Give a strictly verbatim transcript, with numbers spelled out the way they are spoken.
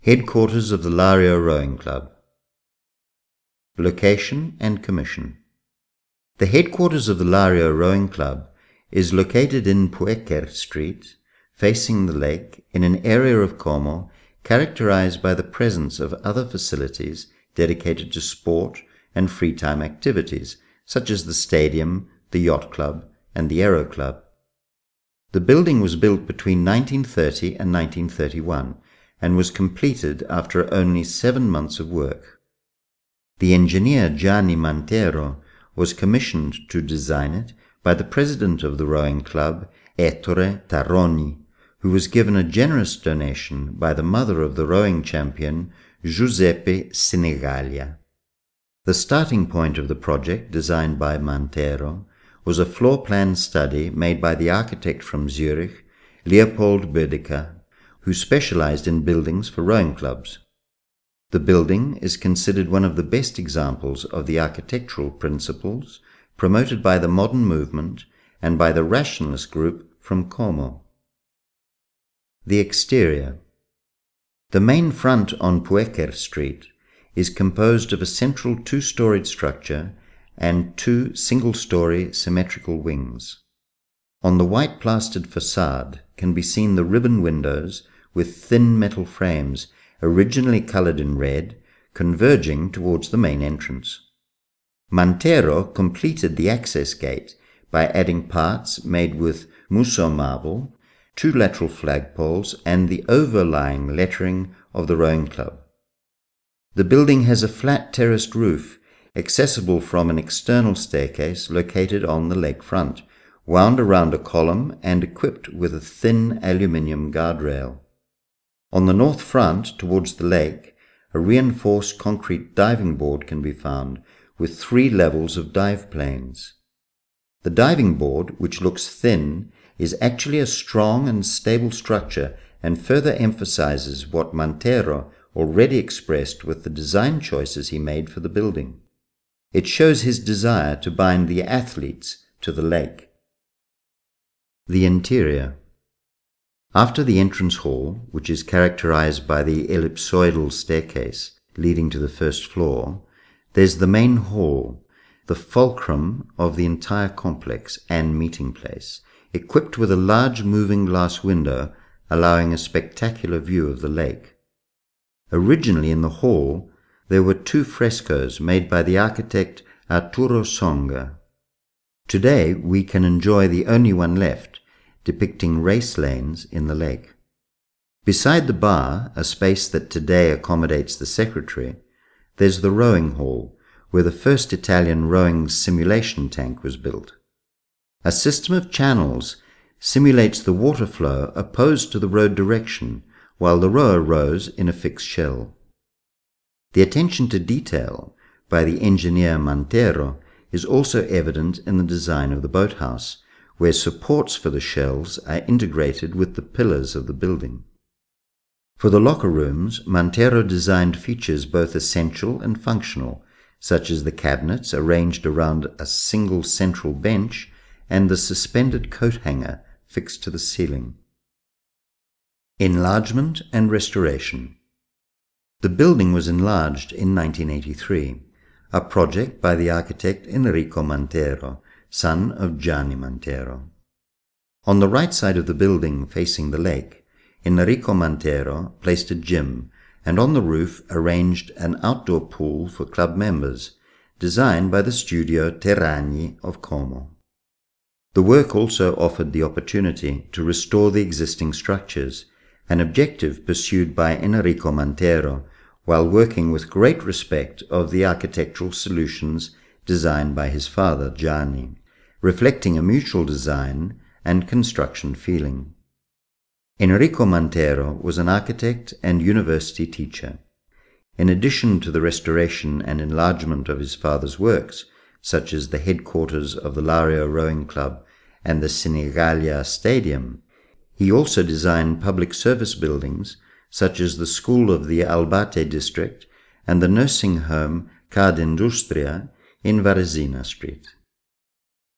Headquarters of the Lario Rowing Club. Location and commission. The headquarters of the Lario Rowing Club is located in Puecker Street, facing the lake, in an area of Como characterized by the presence of other facilities dedicated to sport and free time activities, such as the stadium, the yacht club, and the aero club. The building was built between nineteen thirty and nineteen thirty-one and was completed after only seven months of work. The engineer Gianni Mantero was commissioned to design it by the president of the rowing club, Ettore Tarroni, who was given a generous donation by the mother of the rowing champion, Giuseppe Sinigallia. The starting point of the project, designed by Mantero, was a floor plan study made by the architect from Zurich, Leopold Bödecker, who specialized in buildings for rowing clubs. The building is considered one of the best examples of the architectural principles promoted by the modern movement and by the rationalist group from Como. The exterior. The main front on Puecker Street is composed of a central two-storied structure and two single-story symmetrical wings. On the white plastered facade can be seen the ribbon windows with thin metal frames originally colored in red, converging towards the main entrance. Mantero completed the access gate by adding parts made with Musso marble, two lateral flagpoles, and the overlying lettering of the rowing club. The building has a flat terraced roof, accessible from an external staircase located on the lake front, wound around a column and equipped with a thin aluminium guardrail. On the north front, towards the lake, a reinforced concrete diving board can be found, with three levels of dive planes. The diving board, which looks thin, is actually a strong and stable structure and further emphasizes what Mantero already expressed with the design choices he made for the building. It shows his desire to bind the athletes to the lake. The interior. After the entrance hall, which is characterized by the ellipsoidal staircase leading to the first floor, there's the main hall, the fulcrum of the entire complex and meeting place, equipped with a large moving glass window allowing a spectacular view of the lake. Originally in the hall, there were two frescoes made by the architect Arturo Songa. Today we can enjoy the only one left, depicting race lanes in the lake. Beside the bar, a space that today accommodates the secretary, there's the rowing hall, where the first Italian rowing simulation tank was built. A system of channels simulates the water flow opposed to the road direction, while the rower rows in a fixed shell. The attention to detail by the engineer Mantero is also evident in the design of the boathouse, where supports for the shells are integrated with the pillars of the building. For the locker rooms, Mantero designed features both essential and functional, such as the cabinets arranged around a single central bench and the suspended coat hanger fixed to the ceiling. Enlargement and restoration. The building was enlarged in nineteen eighty-three, a project by the architect Enrico Mantero, son of Gianni Mantero. On the right side of the building facing the lake, Enrico Mantero placed a gym and on the roof arranged an outdoor pool for club members, designed by the studio Terragni of Como. The work also offered the opportunity to restore the existing structures, an objective pursued by Enrico Mantero while working with great respect of the architectural solutions designed by his father Gianni, reflecting a mutual design and construction feeling. Enrico Mantero was an architect and university teacher. In addition to the restoration and enlargement of his father's works, such as the headquarters of the Lario Rowing Club and the Sinigallia Stadium, he also designed public service buildings such as the school of the Albate district and the nursing home Card Industria in Varesina Street.